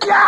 ya.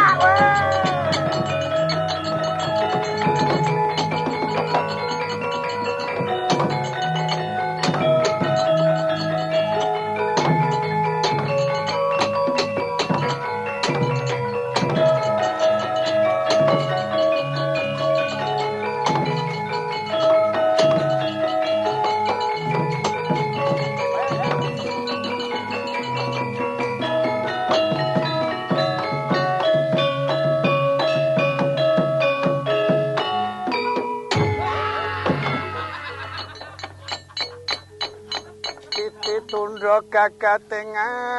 Tundra gagating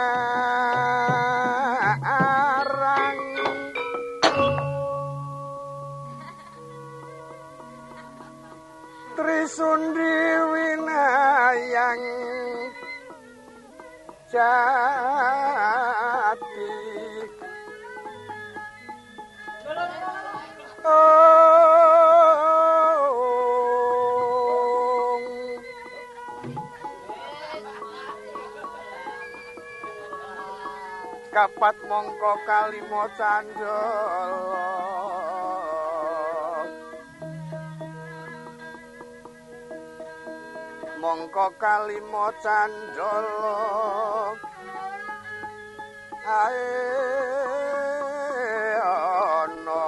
arang Trisundi winayang jati kapat mongko kalimo candala mongko kalimo candala ae ana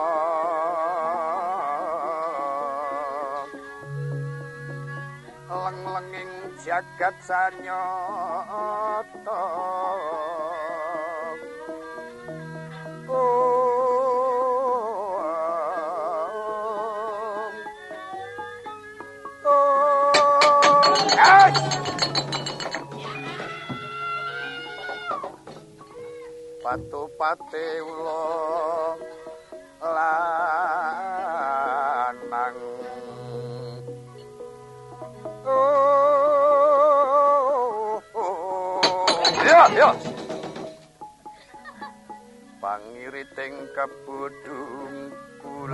leng-lenging jagat sanyata Patupate ula lanang ya pangiriting kebudungkul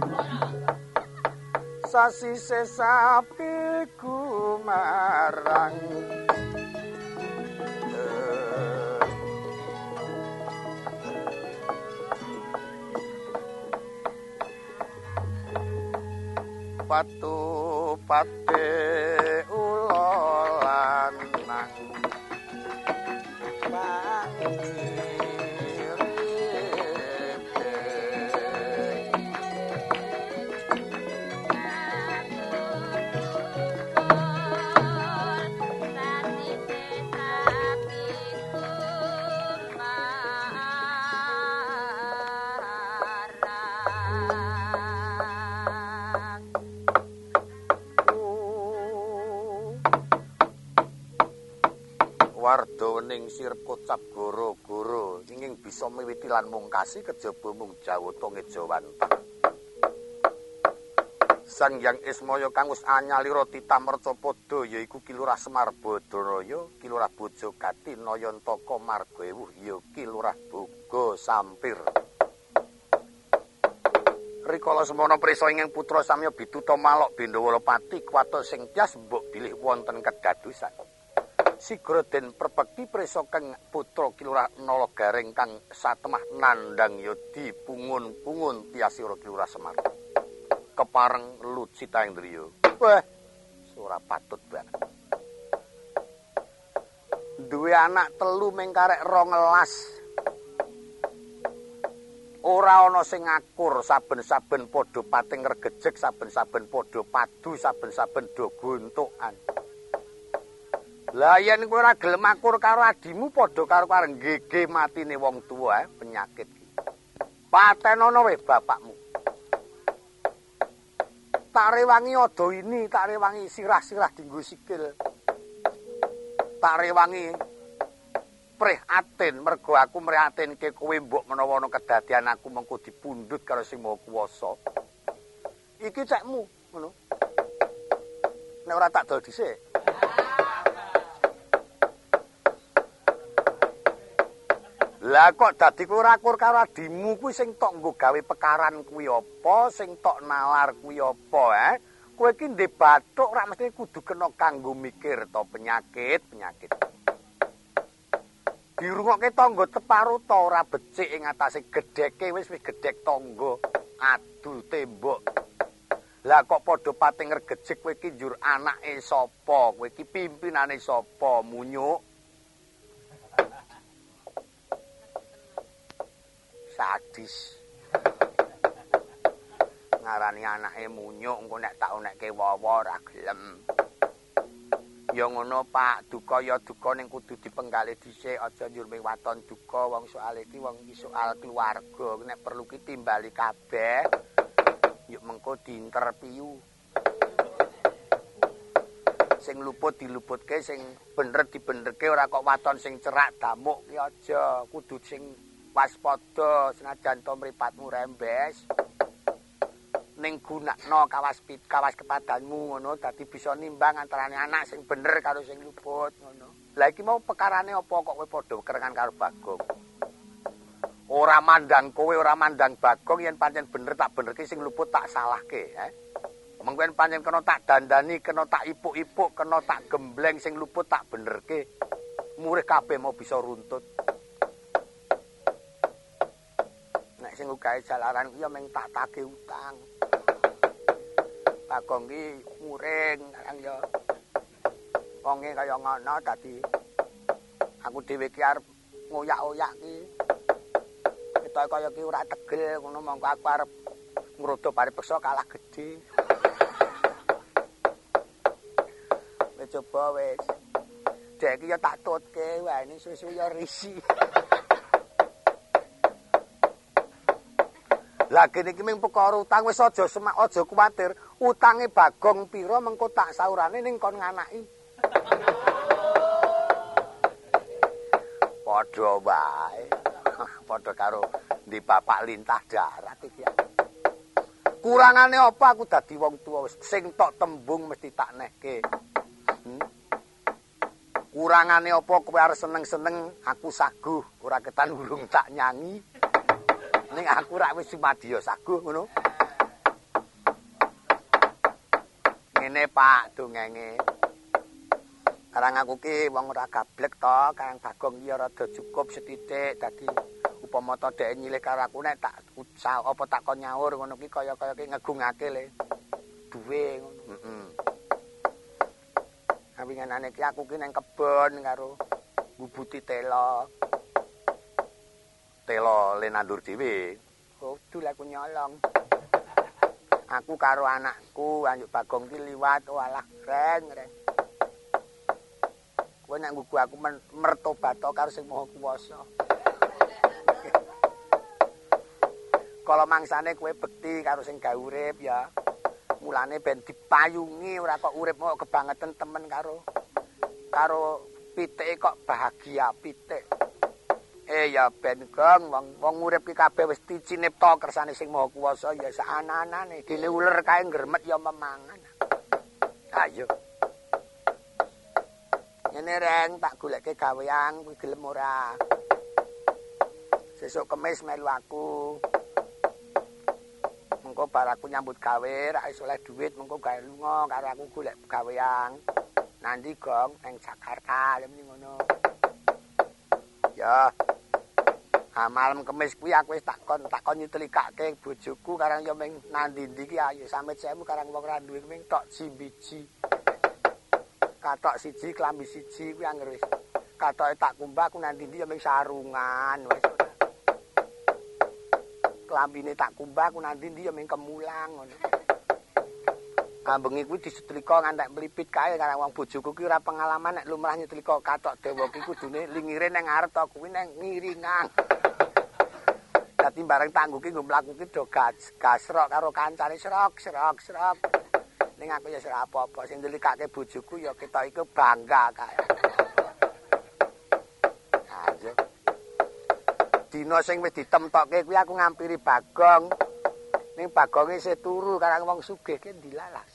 sasi sesapi gumarang patupate ula lanang warda ning sirep kocap goro-goro inging bisa miwiti lan mungkasi kejaba mung jawata ngejawantah Sang Hyang Ismaya kang wis anyalira titamerca padha yaiku Ki Lurah Semar Badaraya, Ki Lurah Bojogati, Nayantaka Margaewuh ya Ki Lurah Boga Sampir. Rikala semana prisa ingkang putra samya Bituta Malok Bendawalapati kuwatos sing tias mbok bilih wonten kedadosan. Sigra den perbekti prisa kang putra Ki Lurah Nalagaring kang satemah nandhang yadi pungun-pungun tiasira Ki Lurah Semar. Kepareng lucita ing driya. Wah, ora patut banget. Duwe anak telu ming karek 12. Ora ana sing ngakur, saben-saben padha pating regejeg, saben-saben padha padu, saben-saben do gontokan. Lah yen kowe ora gelem akur karo adimu padha karo kareng gege matine wong tuwa penyakit iki. Patenono weh bapakmu. Tak rewangi ada ini, tak rewangi sirah-sirah dinggo sikil. Tak rewangi prihatin mergo aku mrihatinke kowe mbok menawa ana kedadian aku mengko dipundhut karo Sing Maha Kuwasa. Iki cekmu, ngono. Nek ora tak dol dhisik. Lah kok dadi kowe ora akur karo adimu kuwi sing tok nggo gawe pekaran kuwi apa, sing tok nalar kuwi apa, Kowe iki ndek bathuk ora mesti kudu kena kanggo mikir to penyakit. dirungokke tangga teparuta ora becik ing atase gedheke wis gedhek tangga adu tembok. Lah kok padha pating regejek kowe iki njur anake sapa? Kowe iki pimpinane sapa? Munyuk. Sadis. Ngarani anake munyuk engko nek tak onekke wawa ora gelem. Ya ngono Pak, duka ya duka ning kudu dipenggali dhisik, aja njur ming waton duka wong soal iki wong iki soal keluarga. Nek perlu ki timbali kabeh. Yuk mengko diinterview. Sing luput diluputke, sing bener dibenerke ora kok waton sing cerak damuk ki aja. Kudu sing waspada senajan to mripatmu rembes. Ning gunakno kawas kepadanmu ngono dadi bisa nimbang antarane anak sing bener karo sing luput ngono. Lah iki mau pekarane apa kok kowe padha kerengan karo Bagong? Ora mandang kowe, ora mandang Bagong yen pancen bener tak benerke sing luput tak salahke, Mengko yen pancen kena tak dandani, kena tak ipuk-ipuk, kena tak gembleng sing luput tak benerke. Murih kabeh mau bisa runtut. Nek sing ugahe jalaran ku ya meng tak tagih utang. Bagong ki muring kan ya. Wonge kaya ngono dadi aku dhewe ki arep ngoyak-oyak ki. Ketoke kaya ki ora tegel ngono mongko aku arep ngrodha paripeksa kalah gedhe. Wis coba wis. Dek iki ya tak tutke wae ini susu ya risi. Lah kene iki mung perkara utang wis aja kuwatir. Utange Bagong pira mengko tak saurane ning kon nganaki. Padha wae. Padha karo ndi bapak lintah darat iki. Kurangane apa aku dadi wong tuwa wis sing tok tembung mesti tak nehke. Kurangane apa kowe arep seneng-seneng aku saguh ora ketan urung tak nyanyi. Ning aku rak wis sumadya saguh ngono. Ngene Pak dongenge. Karang aku ki wong ora gablek to, Kang Bagong iki rada cukup sethithik dadi upama to dhek nyilih karo aku nek tak apa tak kon nyaur ngono ki kaya-kaya ki ngegungake le. Duwe ngono. Heeh. Awinganane ki aku ki nang kebon karo ngubuti tela. Telo le nandur dhewe. Kudu aku nyolong. Aku karo anakku anjuk Bagong ki liwat walah reng. Kowe nek nggugu aku mertobat karo sing Maha Kuwasa. Kala mangsane kowe bekti karo sing gawe urip ya. Mulane ben dipayungi ora kok urip kok kebangetan temen karo pitike kok bahagia pitik. Ya ben Gong wong urip ki kabeh wis dicinipta kersane sing Maha Kuwasa ya saana-anane dene uler kae ngremet ya memangan. Ayo. Ngene reng tak goleke gawean kuwi gelem ora. Sesuk Kemis melu aku. Mengko bar aku nyambut gawe ra iso oleh dhuwit mengko gawe lunga karo aku golek gawean. Nanti Gong nang Jakarta lem ngono. Ya. Malam Kemis kuwi aku wis takon nyutelikake bojoku karang ya ming nandi-ndi ki ayo sampe semu karang wong ra duwe ming tok jimbiji. Katok siji klambi siji kuwi anger wis katoke tak kumbah aku nandi-ndi ya ming sarungan wis. Klambine tak kumbah aku nandi-ndi ya ming kemulang ngono. Kambengi kuwi disetrika ngantek mlipit kae karang wong bojoku ki ora pengalaman nek lumrah nyetrika katok dawa ki kudune lingire nang ngarep to kuwi nang ngiringan. Dadi bareng tangguh ki nggo mlaku ki do gasrok karo kancane srok. Ning aku ya ora apa-apa sing ndelikake bojoku ya ketok iku bangga kae. Aja. Dina sing wis ditemtokke kuwi aku ngampiri Bagong. Ning Bagonge isih turu karang wong sugih ki dilalas.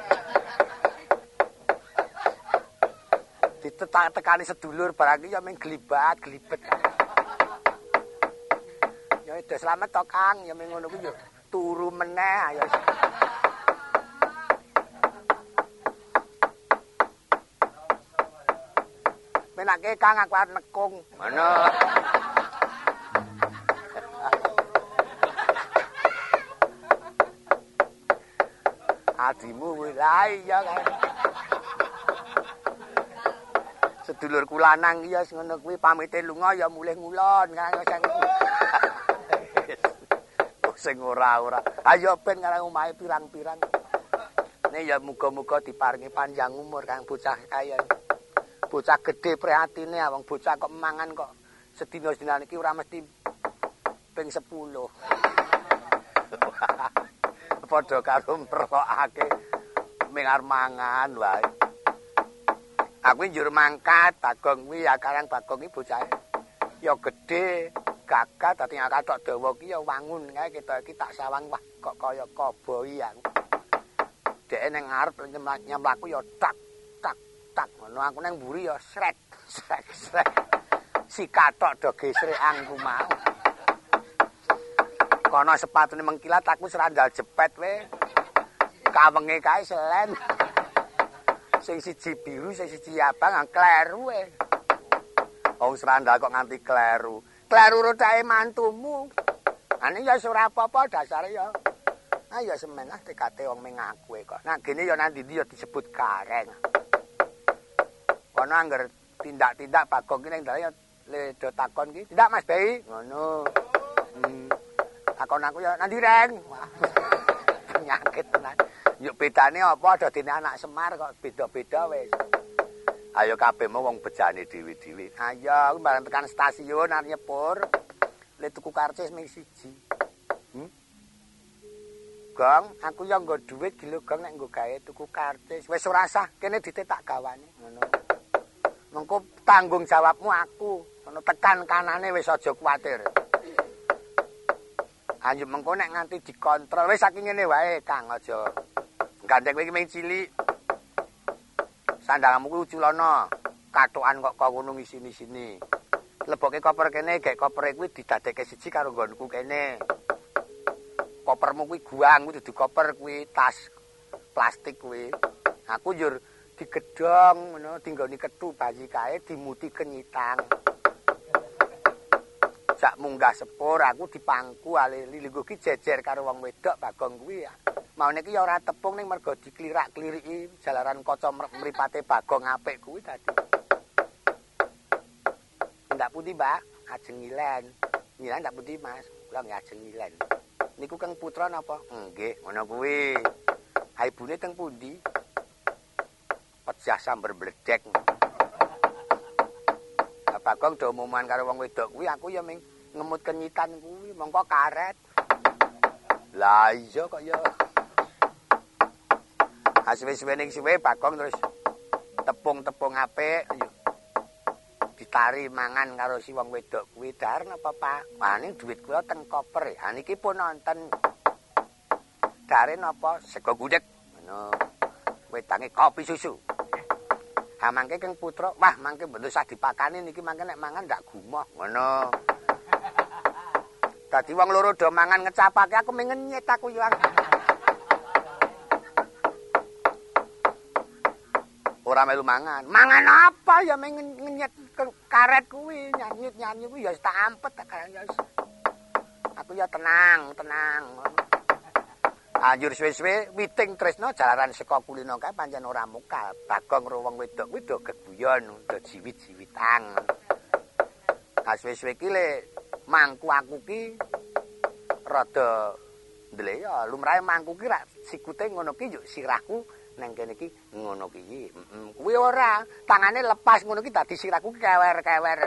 Ditetak-tekani sedulur barang iki ya ming glibet. Ya wis slamet to Kang, ya ming ngono kuwi ya turu meneh ayo. Menake Kang aku arep nekung. Ngono. Adimu kuwi la iya kan. Sedulurku lanang ya ngono kuwi pamite lunga ya mulih ngulon Kang sing ora-ora. Ayo ben karang omahe pirang-pirang. Ne ya muga-muga diparingi panjang umur Kang bocah kaya. Bocah gedhe prihatine wong bocah kok mangan kok sedina-sedina iki ora mesti ping 10. Padha karo merokake mengar mangan wae. Aku njur mangkat Bagong kuwi ya karang Bagong iki bocahe. Ya gedhe, gagah dadi katok dawa ki ya wangun kae kita iki tak sawang wah kok kaya koboi aku. Dhek ning ngarep nyemlaku ya tak tak tak ngono aku nang mburi ya srek srek srek. Si katok do gesrekangku mau. Kono sepatune mengkilat aku serandal jepet we. Kawenge kae selen. Sing siji biru, sing siji abang, kleru we. Wong serandal kok nganti kleru. Kleru rotahe mantumu. Ane ya ora apa-apa dasare ya. Ah ya semen ah tekate wong ming aku kok. Nah gene ya nang ndi ya disebut gareng. Kono angger tindak-tindak Bagong ki ning dalan ya le do takon ki. Tindak Mas Bei. Ngono. Takon aku ya nang ndi Reng? Penyakit tenan. Yuk bedane apa ada dene anak Semar kok beda-beda wis. Ayo kabehmu wong bejane dhewe-dhewe. Ayo aku bareng tekan stasiun arep nyepur. Le tuku karcis ming siji. Gong, aku ya nggo dhuwit gilo Gong nek nggo gawe tuku karcis. Wis ora usah, kene ditetak gawane ngono. Mengko tanggung jawabmu aku. Ngono tekan kanane wis aja kuwatir. Anjuk mengko nek nganti dikontrol wis saking ngene wae Kang aja. Gandeng kowe ming cilik. Sandangmu kuwi uculana. Katokan kok ngono ngisini-sini. Leboke koper kene, gek kopere kuwi didadekke siji karo nggonku kene. Kopermu kuwi guang kuwi dudu koper kuwi tas plastik kuwi. Aku njur digedhong ngono, dinggoni kethu bayi kae dimuti kenyitang. Jak munggah sepur aku dipangku ale lilingku ki jejer karo wong wedok Bagong kuwi. Maune ki ya ora tepung ning mergo diklirak-kliriki jalaran kaca mripate Bagong apik kuwi dadi. Ndak pundi, Mbak? Ajeng ngilen. Ngilen ndak pundi, Mas? Kula nggih ajeng ngilen. Niku Kang Putra napa? Nggih, ngono kuwi. Ha ibune teng pundi? Pejah sambar bledek. Bagong do umuman karo wong wedok kuwi aku ya ming ngemut kenyitan kuwi mongko karet. Lah iya kok ya. Suwe-suwe ning suwe Bagong terus tepung-tepung apik ditari mangan karo si wong wedok kuwi dar napa Pak? Wah ning dhuwit kula teng koper. Ha niki pun nonton. Dare napa sego gudeg ngono. Wedange kopi susu. Ha mangke Kang Putra, wah mangke mboten usah dipakani niki mangke nek mangan ndak gumoh ngono. Dadi wong loro do mangan ngecapake aku mengenyet aku yo. Ora melu mangan. Mangan apa ya mengenyet karet kuwi nyanyut-nyanyi kuwi ya tak ampet tak ya. Aku ya tenang, tenang. Anjur suwe-suwe witing tresno jalaran saka kulino kae pancen ora mukal. Bagong karo wong wedok kuwi do geguyon, do jiwit-jiwitan. Suwe-suwe ki le mangku aku ki rada ndele ya lumrahe mangku ki rak sikute ngono ki yo sirahku nang kene iki ngono ki. Kuwi ora, tangane lepas ngono ki dadi sirahku kewer-kewer.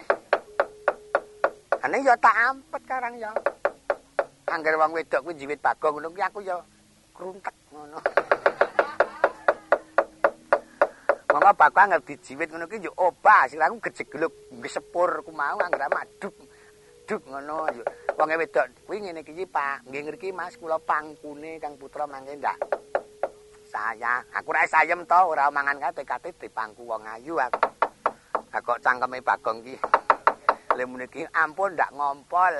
Ane ya tak ampet karang ya. Angger wong wedok kuwi jiwit Bagong ngono ki aku ya kruntek ngono. Monggo Bagong angger dijiwit ngono ki yo obah, sirahku gejegluk gesepur ku mau angger maduk. Duk ngono yo. Wong wedok kuwi ngene iki Pak, nggih ngriki Mas kula pangkune Kang Putra mangke ndak. Saya, aku ra sayem to, ora mangan kae tekate dipangku wong ayu aku. Ha kok cangkeme Bagong ki. Le muniki ampun ndak ngompol.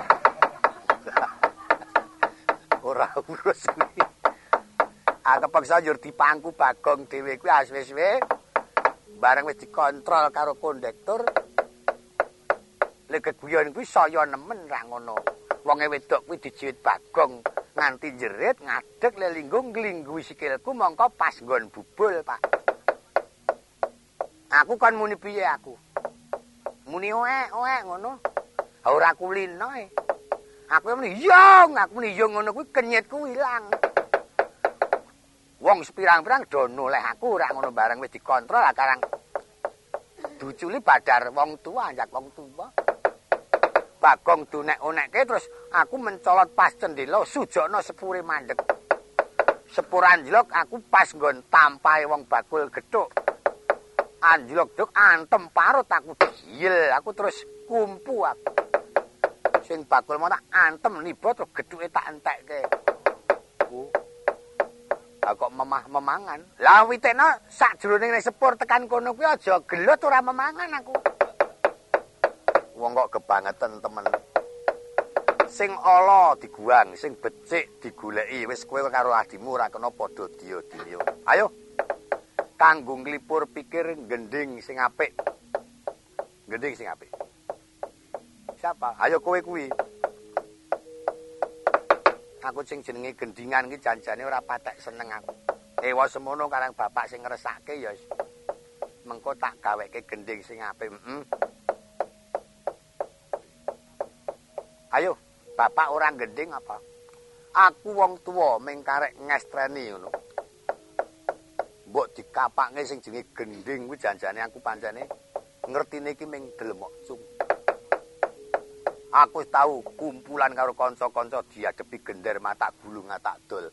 Ora urus kuwi. Kepeksa njur dipangku Bagong dhewe kuwi suwe-suwe bareng wis dikontrol karo kondektur. Lek geguyon kuwi saya nemen ra ngono. Wonge wedok kuwi dijiwit Bagong nganti jerit ngadeg lelinggung nglingguhi sikilku mongko pas nggon bubul, Pak. Aku kan muni piye aku? Muni oek ngono. Ha ora kulino e. Aku muni yong, aku muni yong ngono kuwi kenyitku ilang. Wong sepirang-pirang do noleh aku ora ngono bareng wis dikontrol karang duculi badar wong tua njak wong tua. Bagong dunek-unekke terus aku mencolot pas cendela sujokno sepure mandeg. Sepur anjlok aku pas nggon tampahe wong bakul gethuk. Anjlok duk antem parut aku gil, aku terus kumpu aku. Sing bakul mau tak antem niba terus gethuke tak entekke. Kok memah-memangan. Lah witekno sakjroning ning sepur tekan kono kuwi aja gelut ora memangan aku. Wong kok kebangetan temen. Sing ala diguang, sing becik digoleki. Wis kowe karo adimu ora kena padha diyo-diyo. Ayo. Kanggo nglipur pikir gending sing apik. Gending sing apik. Siapa? Ayo kowe kuwi. Aku sing jenenge gendingan iki janjane ora patek seneng aku. Ewa semono karang bapak sing ngresake ya mengko tak gaweke gending sing apik. Ayo, bapak orang gending apa? Aku wong tua ming karek ngestreni ngono. Mbok dikapake sing jenenge gending kuwi janjane aku pancene ngertine iki ming delemok cung. Aku tahu kumpulan karo kanca-kanca diadepi gender mata gulung tak dol.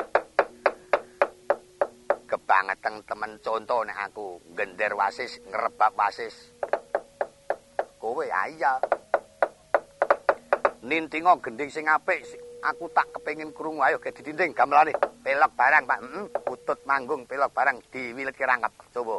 Kebangetan temen contoh nek aku gender wasis ngrebab wasis. Kowe iya. Nintingo gending sing apik aku tak kepengin krungu ayo ge ditinding gamelane pelok barang Pak utut manggung pelok barang diwiletke rangkap coba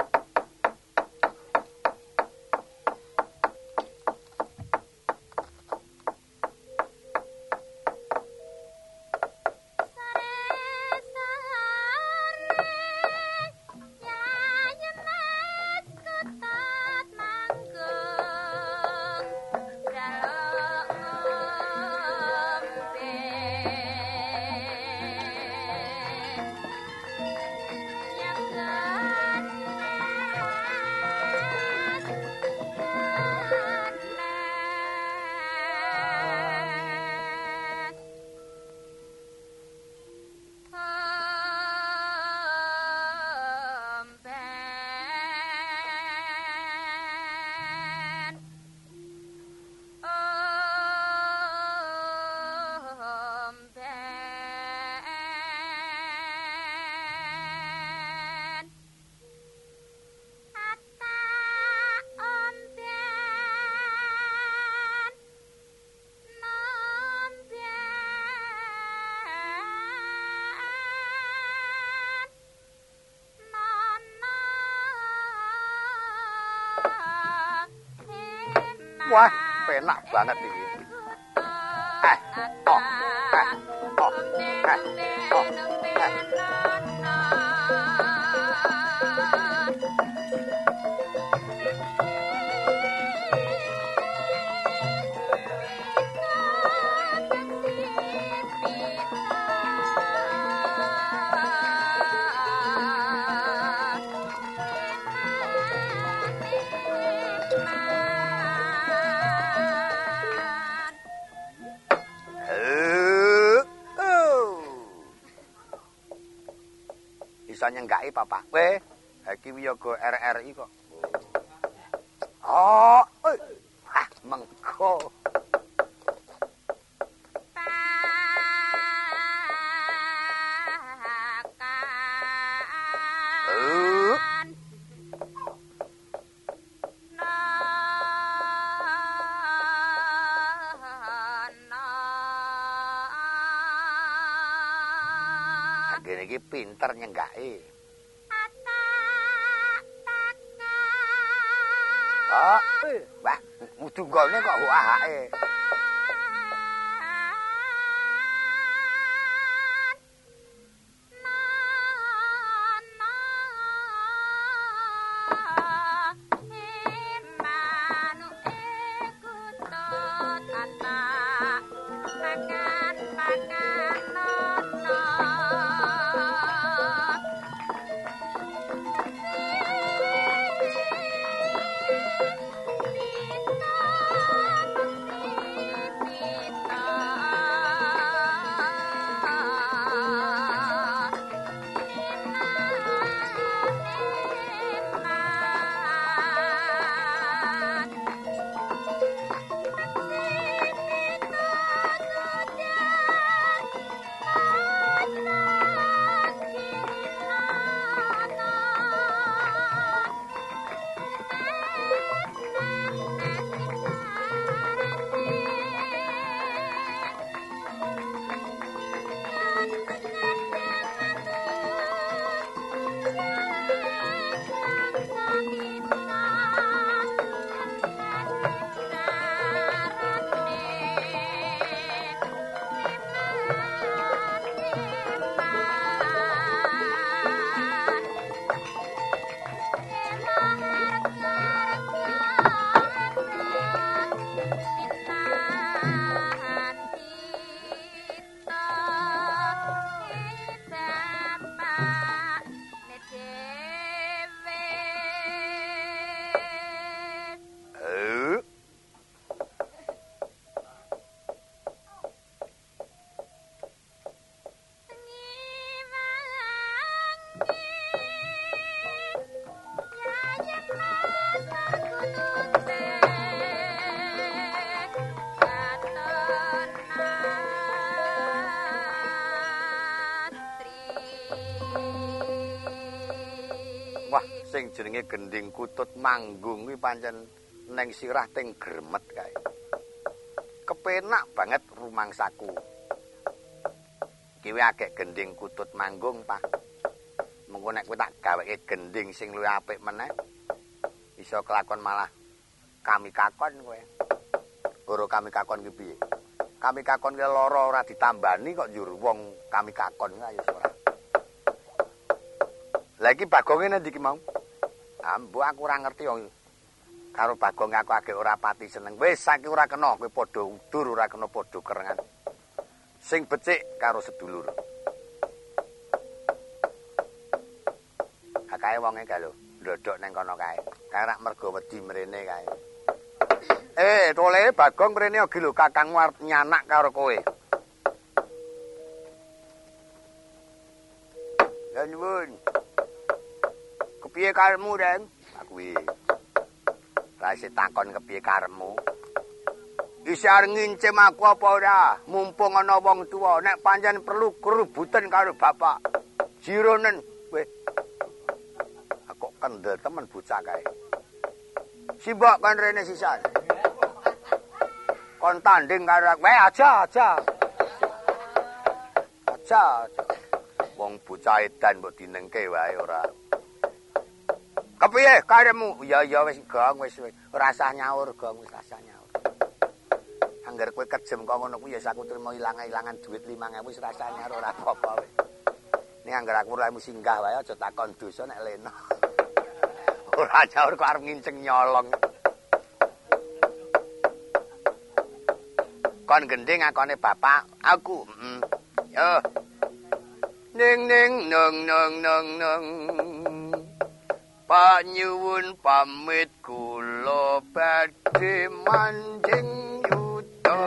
Wah, penak banget iki. Oh. Bisa nyenggaki Bapak. Kowe iki wiyaga RRI kok. Oh, mengko. Iki pinter nyenggaki. Oh, wah, mudunggone kok ahake. sing jenenge gending kutut manggung kuwi pancen neng sirah ting gremet kae. Kepenak banget rumangsaku. Kiwe akeh gending kutut manggung, Pak. Mengko nek kowe tak gaweke gending sing luwih apik meneh, iso kelakon malah kami kakon kowe. Goro kami kakon ki piye? Kami kakon ki lara ora ditambani kok njur wong kami kakon ayo ora. Lah iki Bagong endi iki mau? Mbok aku ora ngerti wong karo Bagong aku agek ora pati seneng. Wis saiki ora kena kowe padha udur ora kena padha kerengan. Sing becik karo sedulur. Kae wonge kae lho, ndodok ning kono kae. Kae rak mergo wedi mrene kae. Tole Bagong mrene iki lho kakangmu arep nyanak karo kowe. Ya nuwun. Kepiye karepmu, Den? Aku iki. Rasih takon kepiye karepmu. Isi arep ngincim aku apa ora? Mumpung ana wong tuwa, nek pancen perlu kerubutan karo bapak. Jironen, weh. Aku kendel temen bocah kae. Simbok kan rene sisan. Kon tanding karo aku. Aja. Wong bocah edan mbok dinengke wae ora. Kepiye karepmu? Ya wis Gong wis rasah nyaur Gong wis rasah nyaur. Angger kowe kejem kok ngono kuwi ya aku trimo ilang-ilangan duit 5.000 wis rasah nyaur ora apa-apa wis. Ning angger aku ora singgah wae aja takon dosa nek lena. Ora nyaur kok arep nginceng nyolong. Kon gending akone bapak, aku. Yo. Ning Pak nyuwun pamit kula badhe manjing yuta.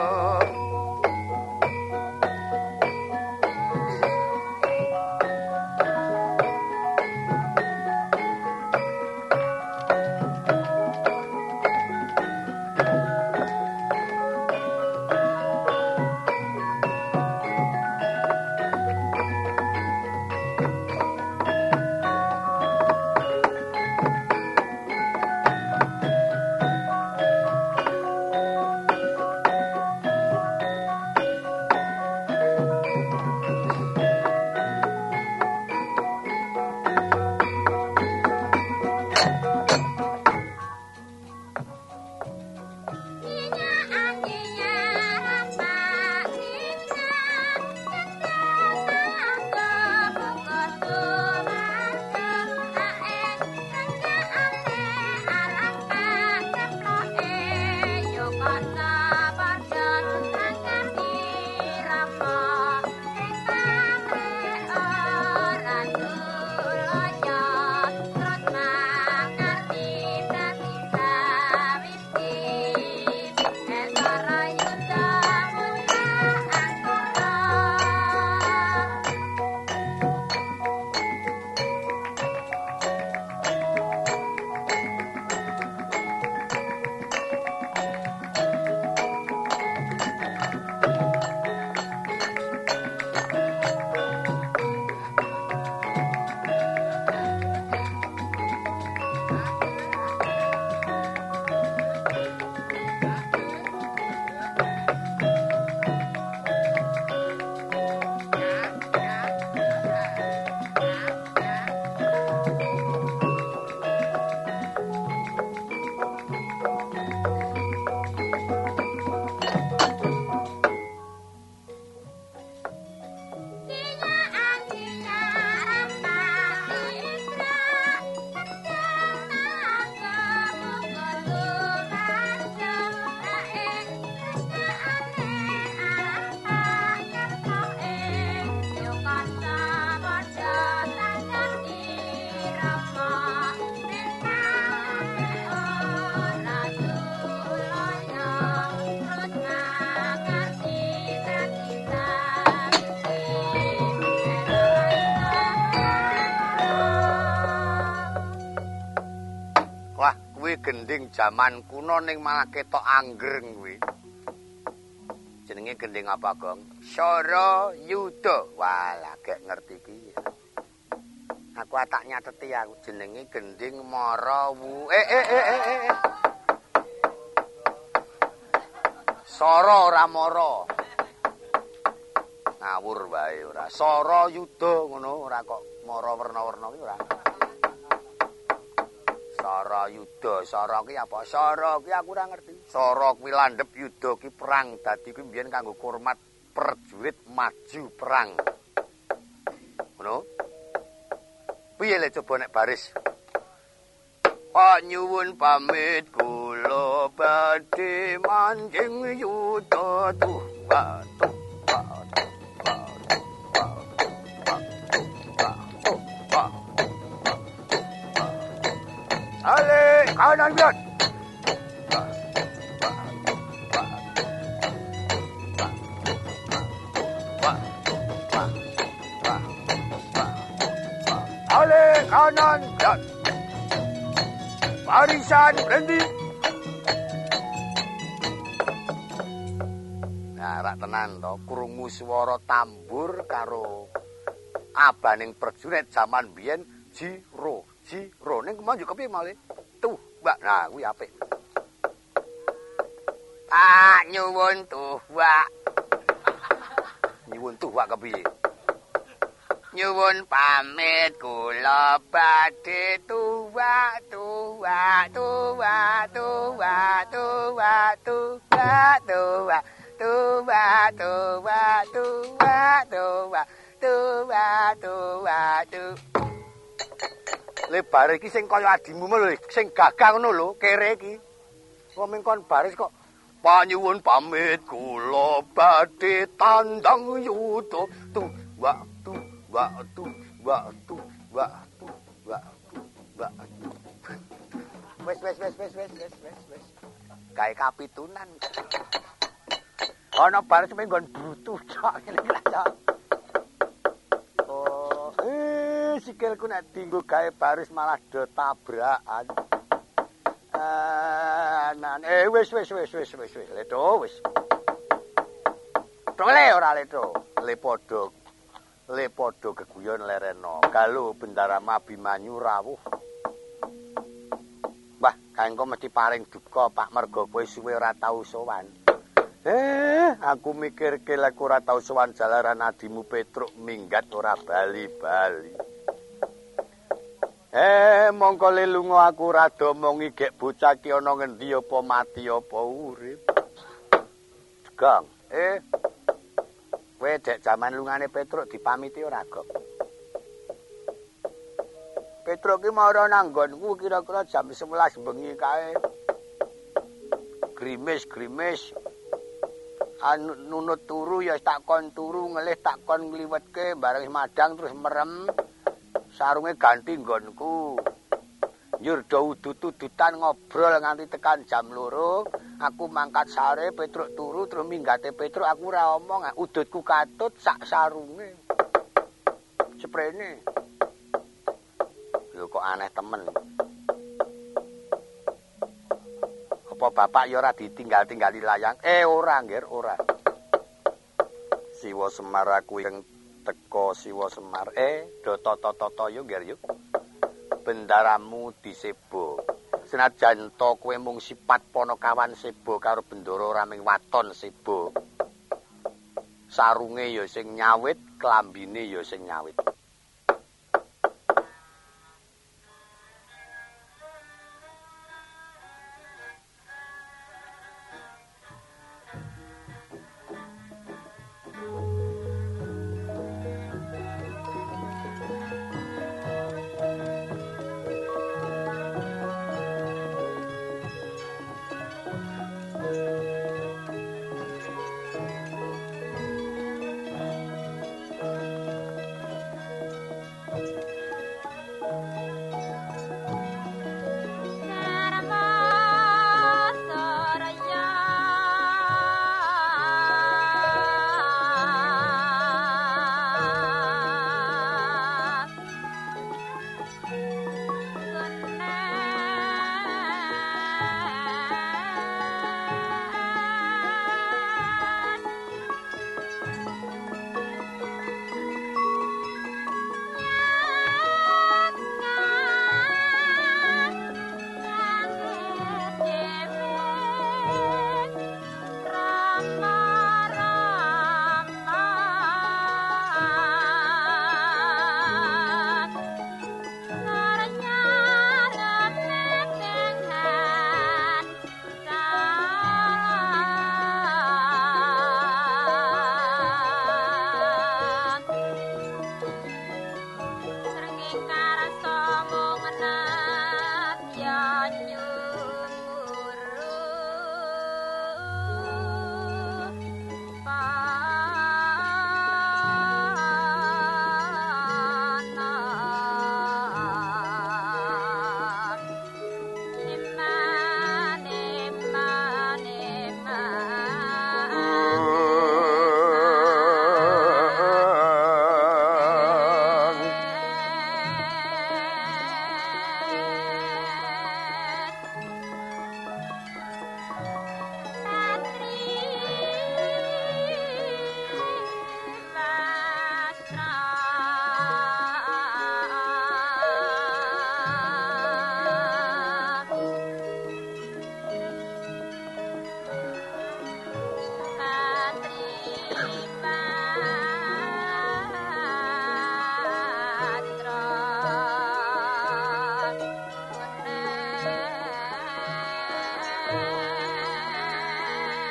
Gending jaman kuno ning malah ketok anggreng kuwi. Jenenge gending apa, Gong? Sara Yuda. Walah, gek ngerti piye. Aku tak nyateti aku jenenge Gending Marawu. Sara ora mara. Ngawur wae ora. Sara Yuda ngono ora kok mara werna-werna ki ora. Sara Yuda, Sara ki apa? Sara ki aku ora ngerti. Sara kuwi landhep, Yuda ki perang. Dadi kuwi mbiyen kanggo kurmat prajurit maju perang. Ngono. Piye le coba nek baris? Pak nyuwun pamit kula badhe manjing Yuda tuh batu. Ale kanan biar. Ale kanan biar. Barisan berhenti. Nah, rak tenan to, krungu swara tambur karo abaning prajurit jaman biyen jiro ning kemana kepiye malih tuh Mbak nah kuwi apik nyuwun tuwak kepiye nyuwun pamit kula badhe tuwak le bare iki sing kaya adimu lho sing gagah ngono lho kere iki kok mengkon baris kok panyuwun pamit kula badhe tandang yuda wes gawe kapitunan ana baris menggon brutu cok ngene cok sikilku nek dinggo gawe baris malah do tabrakan. Wis leto wis. Tole ora leto. Le padha geguyon lereno. Galuh Bendarama Abimanyu rawuh. Mbah, kanggo mesti paring duka Pak merga kowe suwe ora tau sowan. Aku mikirke lek ora tau sowan jalaran adimu Petruk minggat ora bali-bali. Mongko le lunga aku rada omongi gek bocah ki ana ngendi apa mati apa urip. Gang, kowe dek jaman lungane Petruk dipamiti ora, Gok? Petruk ki mara nang nggonku kira-kira jam 11 bengi kae. Grimis. Nunut turu ya tak kon turu ngelih tak kon ngliwetke bareng madang terus merem. Sarunge ganti nggonku. Njur do udut-udutan ngobrol nganti tekan jam 2. Aku mangkat sare, Petruk turu terus minggate Petruk aku ora omong, udutku katut sak sarunge. Sprene. Lho kok aneh temen. Apa bapak ya ora ditinggal-tinggali layang? Ora, nggih, ora. Siwa Semar aku ing teko Siwa Semar do toto yo ngger yo bendaramu disebo senajan to kowe mung sipat Panakawan sebo karo Bendara Raming Waton sebo sarunge ya sing nyawit klambine ya sing nyawit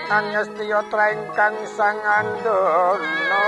Angestiya trengkang sangandana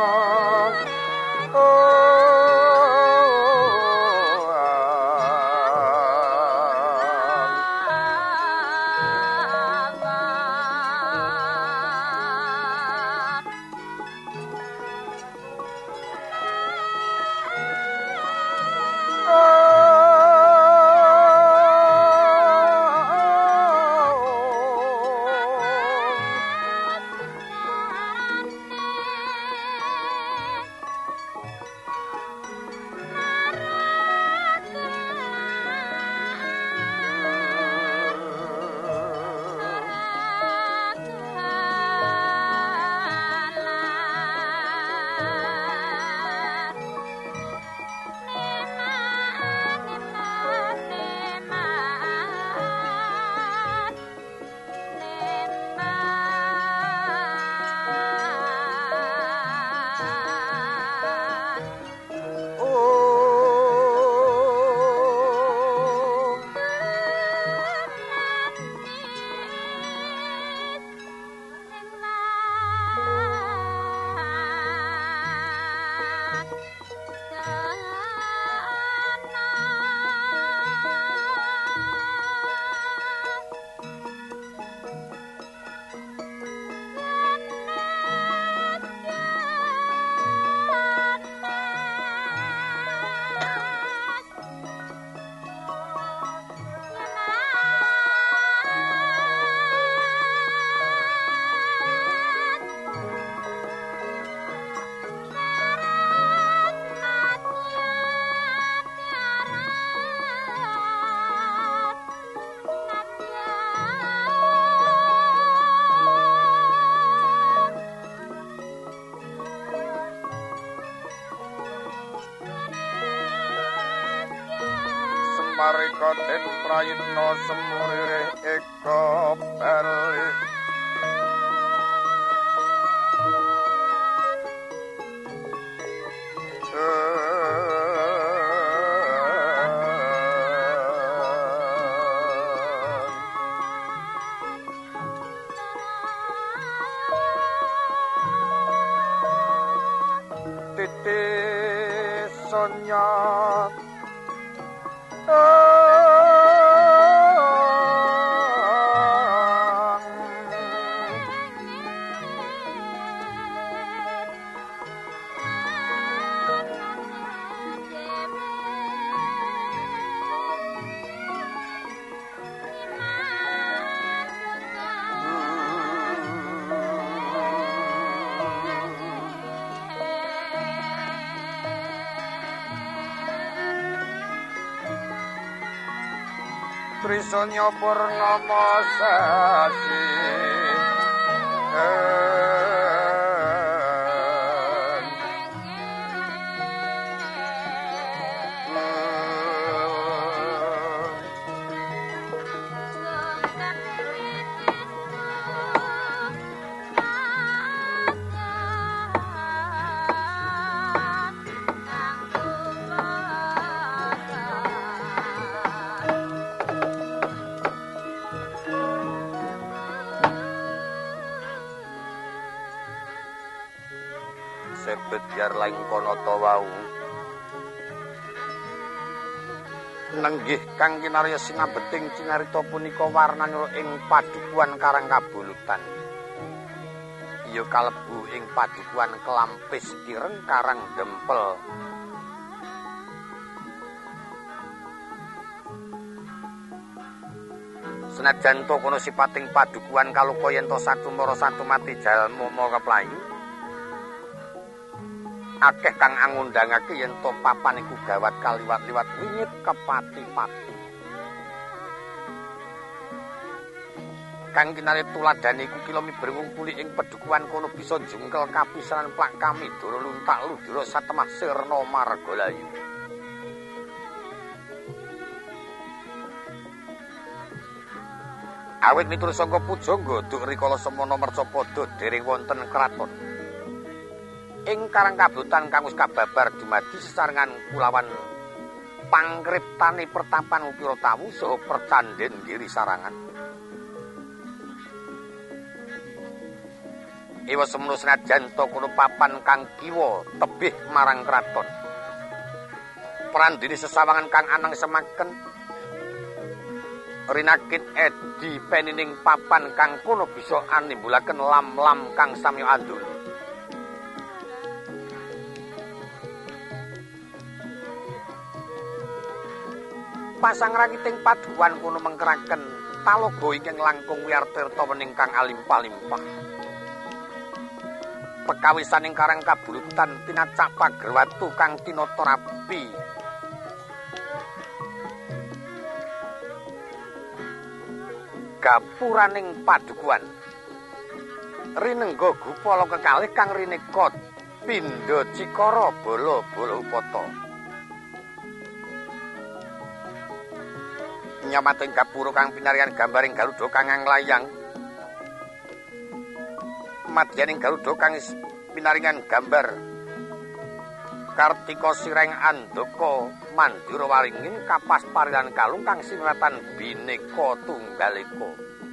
Marika den prayitna semurire eka bali titi sonya Trisanya purnama sasi biar laing kono ta wau nenggih kang kinarya sinabeting cinarita punika warnanya ing padukuhan Karang Kabulutan iya kalebu ing padukuhan Kelampis Kireng Karang Dempel senajan to kono sipating padukuhan kaluka yen to satumara satu mati jalma keplayu akeh kang angundangake yen to papan iku gawat kaliwat-liwat wingit kepati-pati. Kang kinale tuladane iku kila miber ngumpuli ing pedukuhan kono bisa jungkel kapisanan plak kami doro luntak ludira satemah sirna margalayu. Awit miturut saka pujangga duk rikala semana mercapada dereng wonten kraton. Ing Karang Kabulutan kang wis kababar dumadi sesarengan kulawan pangkriptane pertapan Upira Tawu saha percandhen Giri Sarangan. Iwa semono senajan to kono papan kang kiwa tebih marang kraton. Prandini sesawangan kang anang semaken rinakit edi penining papan kang kono bisa animbulaken lam-lam kang samya andul. Pasang rakiting paduan kono mengkeraken talaga ingkang langkung wiyartirta wening kang alimpah-limpah. Pekawisaning karang kabulutan tinacak pagerwatu kang tinata rapi. Gapuraning padukuan rinengga gupala kekalih kang rineka pindha cikara bala-bala upata. Nyamating gapura kang pinarian gambaring Garuda kang nglayang madyaning Garuda kang pinaringan gambar Kartika Sireng Andaka Mandura Waringin kapas parilan kalung kang sinratan bineka tunggalika.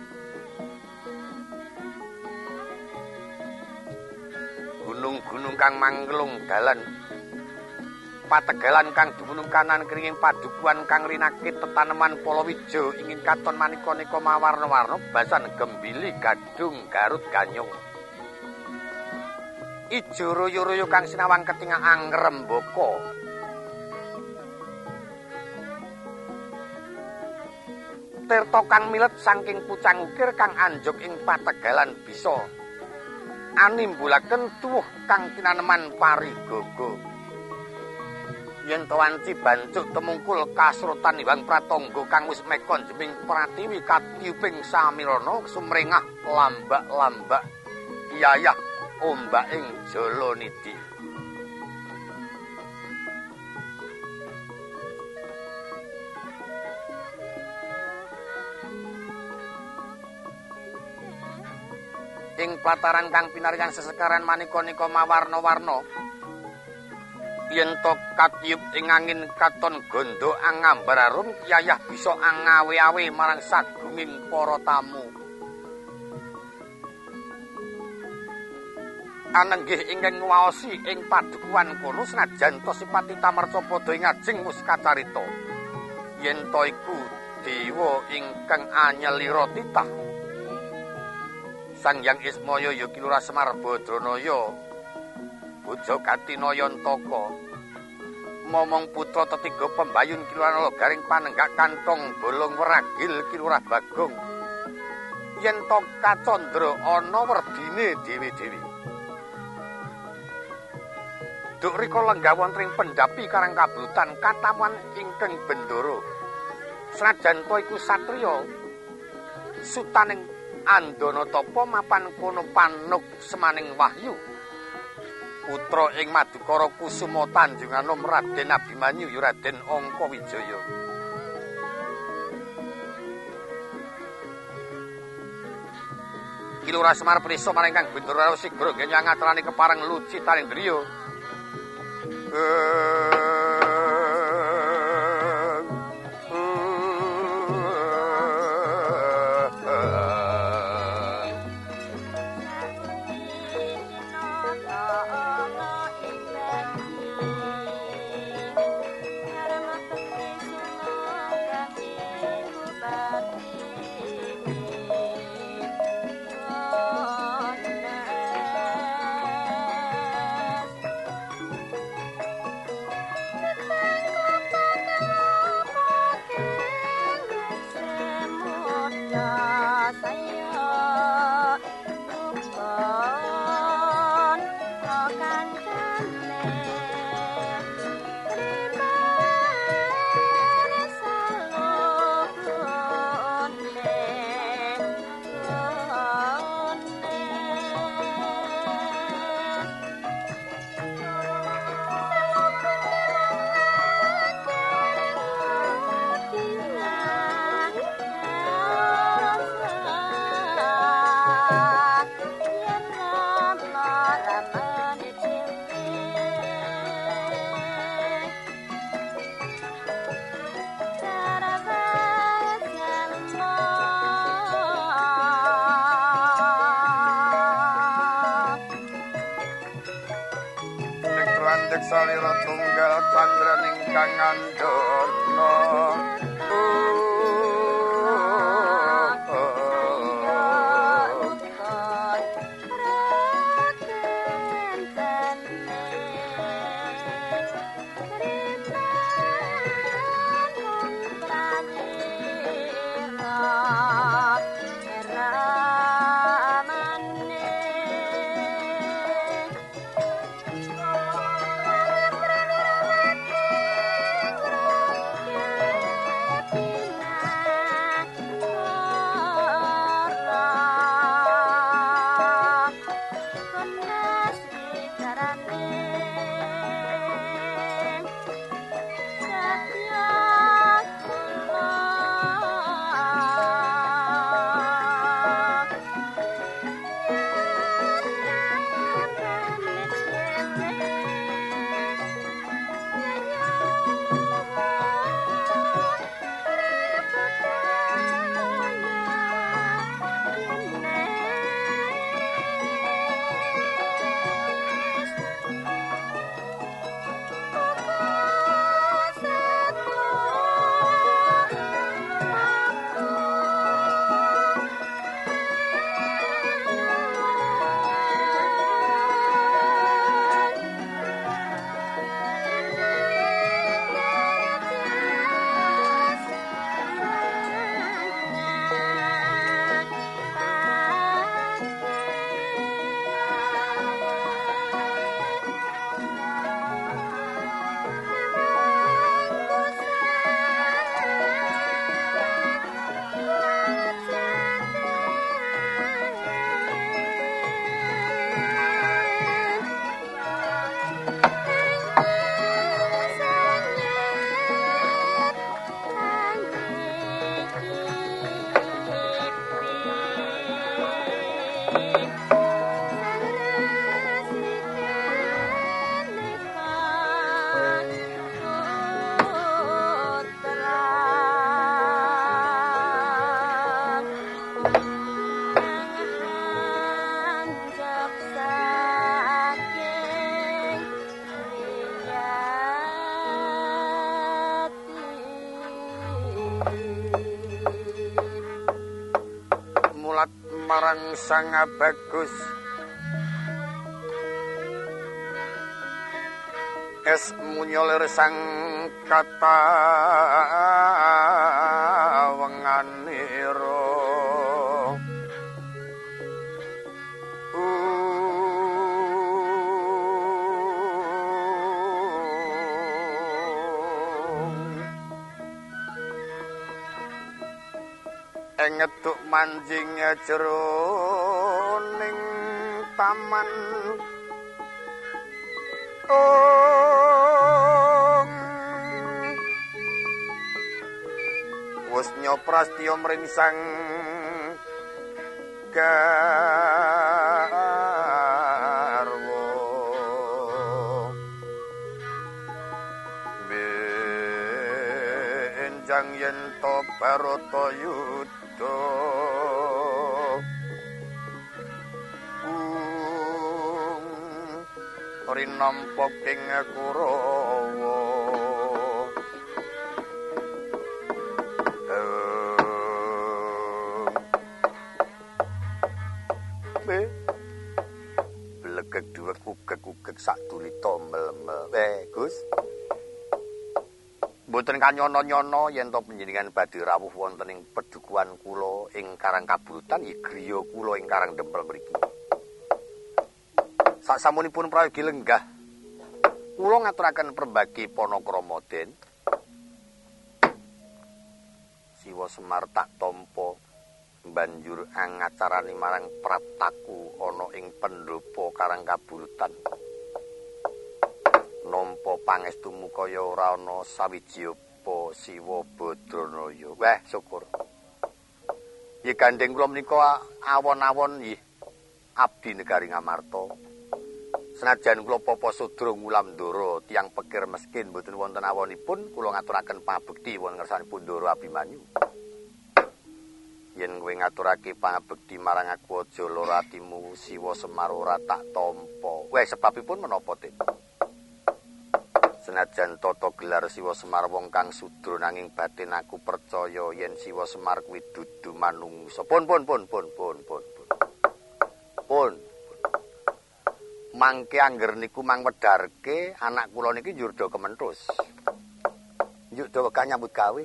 Gunung-gunung kang manglung dalan pategalan kang dumunung kanan kringing padukuan kang rinakit tetaneman palawija ingin katon manika-nika mawarna-warna basan gembili gadung garut ganyong. Ijo royo-royo kang sinawang ketinga angrembaka. Tirta kang milet saking pucang ukir kang anjuk ing pategalan bisa animbulaken tuwuh kang tinaneman parigaga. Yen to wanci bancuk temungkul kasrutan Hyang Pratangga kang wis mekon jeming Pratiwi katiuping samirana sumrengah lambak-lambak iyayah ombaking Jalanidi. Ing plataran kang pinarikan sesekaran manika-nika mawarna-warna yen to katiup ing angin katon gondo angambar arum yayah bisa angawe-awe marang sagunging para tamu. Anenggih ingkang nguwaosi ing padukuhan kono senajan to sipati tamarca padha ing ajeng mus kacarita yen to iku dewa ingkang anyelira titah Sang Hyang Ismaya Yogi Lurah Semar Badranaya Bojo Gatinayantaka momong putra tetiga pembayun Kilurah garing panenggak kantong bolong weragil Kilurah Bagong yen to kacandra ana werdine dewi-dewi. Duk rika lenggah wonten ing pendhapi karang kablutan katamuan ingkang bendoro. Senajan to iku satriya sutaning Andanatapa mapan kono panuk semaning wahyu. Putra ing Madukara Kusuma Tanjunganom Raden Abimanyu ya Raden Angkawijaya. Kilurah Semar prisa maring Kang Bendoro Sigra ngenyang atrane kepareng luci taring griya. Sajek salira tunggal candraning kang ngandana marang Sang Bagus es munyolir sang kata wenganira ngeduk manjing jroning taman wis nyoprastya mringsang garwa benjang yen to Baratayuda rinampa ing Kurawa blegek duwe kugek-kugek sak tulita mel-mel Gus mboten kanyono-nyono yen to panjenengan badhe rawuh wonten ing pedukuhan kula ing Karang Kabulutan ya griya kula ing Karang Dempel mriki. Saksamunipun prayogi lenggah kula ngaturaken perbagi Panakrama Den. Siwa Semar tak tampa banjur angacarani marang prataku ana ing pendopo Karang Kabulutan. Nampa pangestu mukaya ora ana sawiji apa Siwa Badranaya. Wah, syukur. Nggih gandeng kula menika awon-awon nggih abdi negari Ngamarta. Senajan kula Papa Sudra Ngulamdara tiyang pikir miskin mboten wonten awonipun kula ngaturaken pangabekti wonten ngersanipun Ndara Abimanyu. Yen kowe ngaturake pangabekti marang aku aja lara atimu Siwa Semar ora tak tampa. Wah, sebabipun menapa, Tin? Senajan tata gelar Siwa Semar wong kang sudra nanging batin aku percaya yen Siwa Semar kuwi dudu manungsa. Pun. Mangke angger niku mang wedharke anak kula niki njur do kementhus. Njuk do wegah nyambut gawe.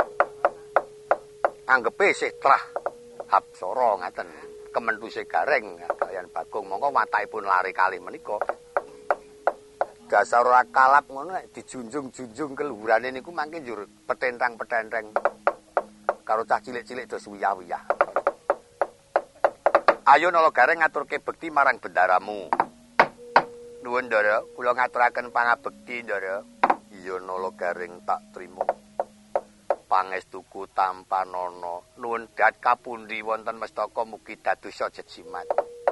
Anggepe isih trah hapsara ngaten. Kementhuse gareng kaliyan Bagong mongko watahipun lari kalih menika. Dasar ora kalap ngono nek dijunjung-junjung keluhurane niku mangke njur petentang-petenteng karo cah cilik-cilik do suwiyah-wiyah. Ayo nala gareng ngaturke bekti marang bendaramu. Nuwun Ndara, kula ngaturaken pangabekti Ndara. Iya nala gareng tak trima. Pangestuku tampanana. Nuwun dat kapundi wonten mestaka mugi dadosa jejimat.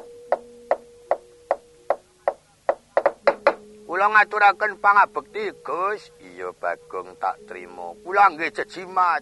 Kula ngaturaken pangabekti, Gus. Iya Bagong tak trima. Kula nggih jejimat.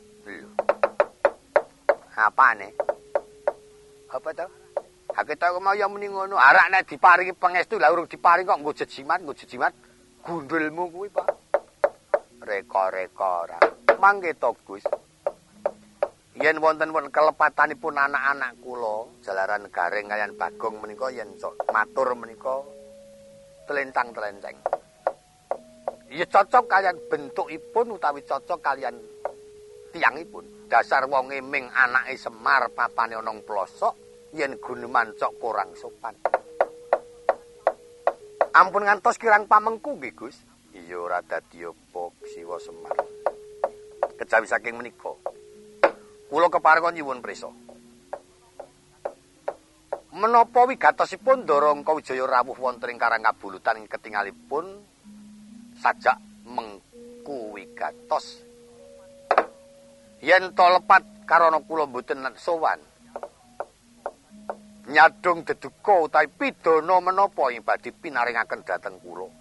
Apane? Apa to? Kita mau ya muni ngono. Arak nek diparingi pangestu lah urung diparing kok nggo jejimat. Gundulmu kuwi, Pak. Reka-reka ora. Mangke to, Gus. Yen wonten kelepatanipun anak-anak kula, jalaran gareng kaliyan Bagong menika yen sok matur menika telentang-telenteng. Ya cocok kalian bentukipun utawi cocok kalian tiangipun. Dasar wong eming anake Semar papane ana ing plosok yen guneman cok kurang sopan. Ampun ngantos kirang pamengku nggih, Gus. Iya ora dadi apa Siwa Semar. Kejawi saking menika kula keparengan nyuwun prisa. Menapa wigatosipun Ndara Wijaya rawuh wonten ing Karangkabulutan ketingalipun sajak mengku wigatos. Yen to lepat karana kula mboten sowan. Nyadung deduka utawi pidana menapa ing badhe pinaringaken dhateng kula.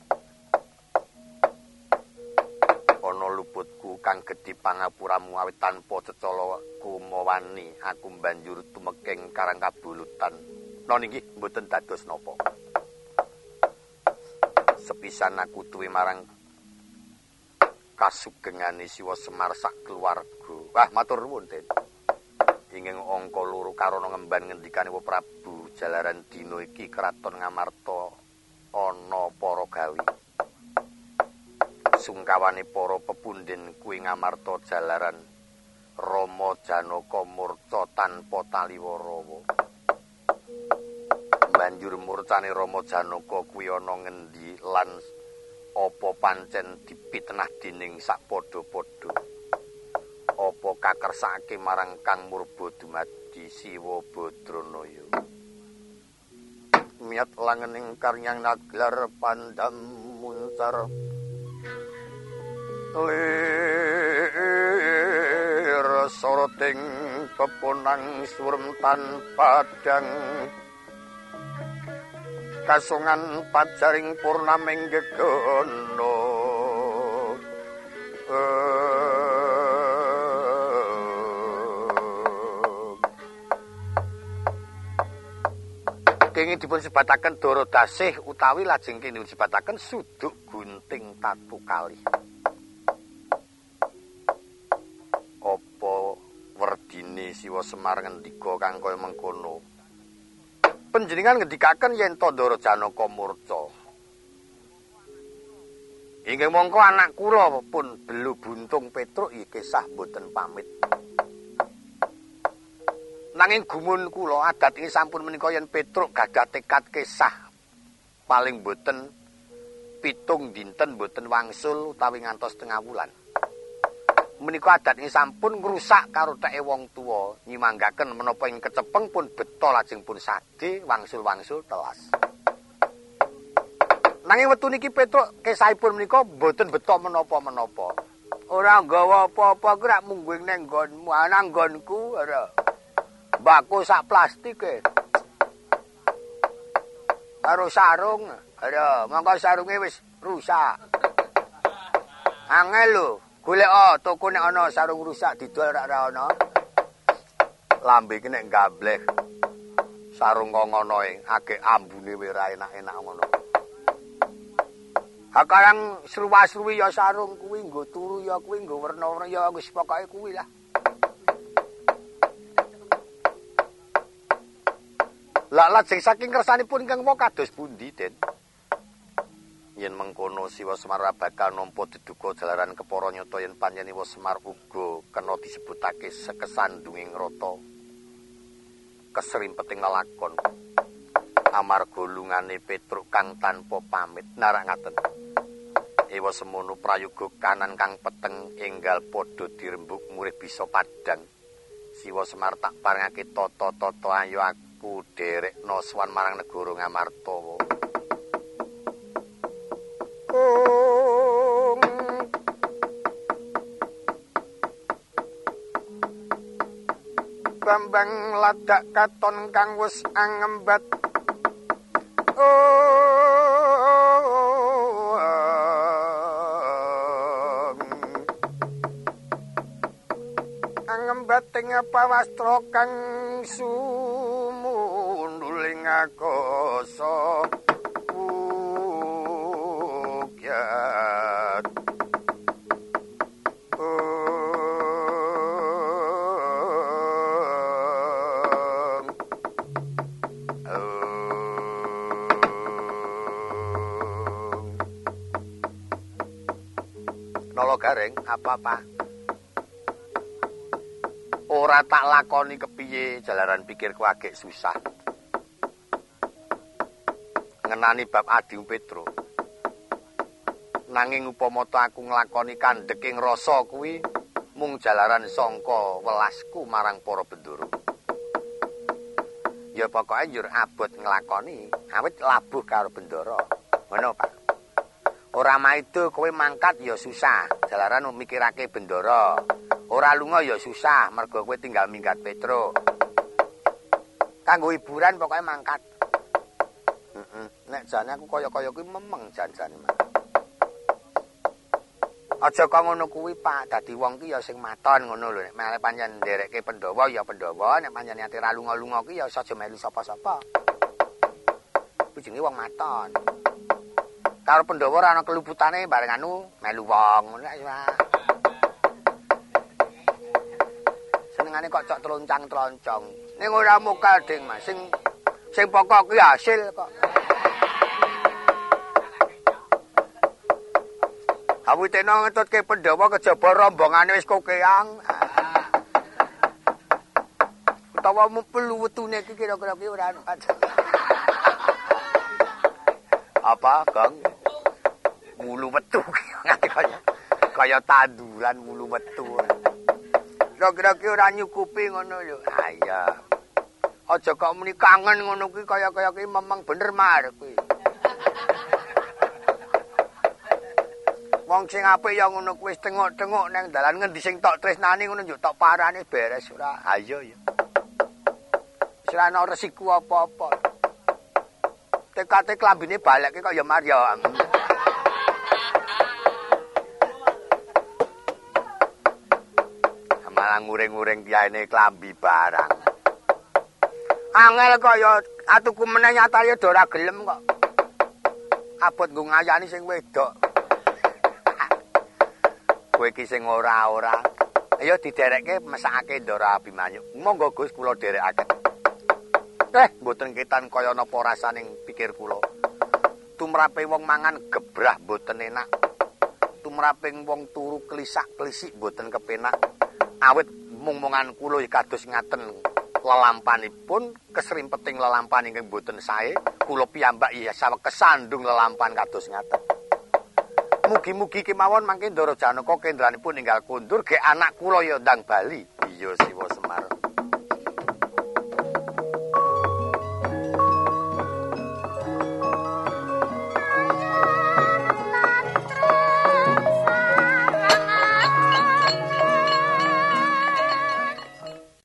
Ana luputku kang gedhi pangapuramu awit tanpa cecala kumawani aku banjur tumeking Karangkabulutan. Niki mboten dados napa. Sepisan aku duwe marang kasugengane Siwa Semar sak keluarga. Wah matur nuwun, Den. Inging angka loro karana ngemban ngendikane Prabu jalaran dina iki kraton Ngamarta ana para gawi. Sungkawane para pepundhen kuwi Ngamarta jalaran Rama Janaka murca tanpa taliwarawa. Banjur murcane Rama Janaka kuwi ana ngendi lan apa pancen dipitenah dening sakpadha-padha. Apa kakersake marang Kang Murba dumadi Siwa Badranaya. Miat langening karyang naglar pandam muncar. Lir soroting pepunang surem tanpa dang. Kasungan pajaring purnaming gegono. Kenging dipun sebataken Dara Dasih utawi lajeng kene dipun sebataken Suduk Gunting Tatu Kalih. Apa werdine Siwa Semar ngendika kang kaya mengkono? Panjenengan ngendikaken yen to Ndara Janaka murca. Inggih mongko anak kula pun Belu Buntung Petruk iki kisah mboten pamit. Nanging gumun kula adat iki sampun menika yen Petruk gadah tekad kisah paling boten 7 dinten boten wangsul utawi ngantos tengah wulan. Menika adat iki sampun ngrusak karo teke wong tuwa nyimanggaken menapa ing kecepeng pun beta lajeng pun sadhe wangsul-wangsul telas. Nanging wektu niki Petruk kisahipun menika boten beta menapa-menapa. Ora nggawa apa-apa ku rak mungguing nang nggonmu, ana nggonku ora. Mbakku sak plastike. Karo sarung. Aduh, mongko sarunge wis rusak. Angel lho, golek toko nek ana sarung rusak didol ora ana. Lambe iki nek gableh. Sarung kok ngono e, agek ambune wis ora enak-enak ngono. Hakarang sruwa-sruwi ya sarung kuwi, nggo turu ya kuwi, nggo werna-werna ya wis pokoke kuwi lah. Lah lajeng saking kersanipun ingkang wau kados pundi, Den? Yen mengkono Siwa Semar bakal nampa deduka jalaran kepara nyata yen panjenengan Semar uga kena disebutake sekesandunging rata kesrimpeting lelakon amarga lungane Petruk kang tanpa pamit narak ngaten. Ewa semono prayoga kanan kang peteng enggal padha dirembug murih bisa padhang. Siwa Semar tak parengake tata-tata ayo aku derekno sowan marang negara Ngamartawa. Bambang ladak katon kang wis angembat angembat ing pawastra kang sumunduling akasa ugyat Nolo Gareng apa-apa ora tak lakoni kepiye jalaran pikirku agek susah ngenani bab Adi Petro nanging upama aku nglakoni kandhek ing rasa kuwi mung jalaran sangka welasku marang para bendoro ya pokoke njur abot nglakoni awit labuh karo bendoro ngono Pak. Ora maido kowe mangkat ya susah, jalaran mikirake bendoro. Ora lunga ya susah, mergo kowe tinggal minggat Petro. Kanggo hiburan pokoke mangkat. Nek jane aku kaya-kaya kuwi memeng jan-jane. Aja kok ngono kuwi Pak, dadi wong ki ya sing maton ngono lho. Nek male pancen nderekke Pandhawa ya Pandhawa, nek pancen ati ra lunga-lunga ki ya aja melu sapa-sapa. Kuwi jenenge wong maton. Karo Pandhawa ora ana keluputane bareng anu melu wong ngono ya. Senengane kok cok troncang-troncong. Ning ora mokal ding Mas. Sing pokok kuwi hasil kok. Awitena ngetutke Pandhawa kejaba rombongane wis kokeang. Utawa melu wetune iki kira-kira ki ora anu. Apa, Kang? Wulu metu kaya tanduran wulu metu. Kira-kira ki ora nyukupi ngono lho. Ah iya. Aja kok muni kangen ngono kuwi kaya-kaya ki memang bener mar kuwi. Wong sing apik ya ngono kuwi wis tengok-tengok nang dalan ngendi sing tok tresnani ngono yo tok parane beres ora. Ah iya ya. Wis ora ana resiko apa-apa. Tekate klambine balekke kok ya Maria. Malah nguring-nguring diaene klambi barang. Angel kok ya atuku meneh nyatane do ora gelem kok. Abot nggo ngayani sing wedok. Kowe iki sing ora-ora. Ayo diderekke mesakake Ndara Abimanyu. Monggo Gus kula derekake. Mboten ketan kaya napa rasaning pikir kula. Tumrape wong mangan gebrah mboten enak. Tumrape wong turu klisak-klisik mboten kepenak. Awit mung-mungan kula kados ngaten lelampanipun kesrimpeting lelampan ingkang mboten sae. Kula piyambak ya saweg kesandung lelampan kados ngaten. Mugi-mugi kemawon mangke Ndara Janaka kendranipun ninggal kundur ge anak kula ya ndang bali. Iya Siwa Semar.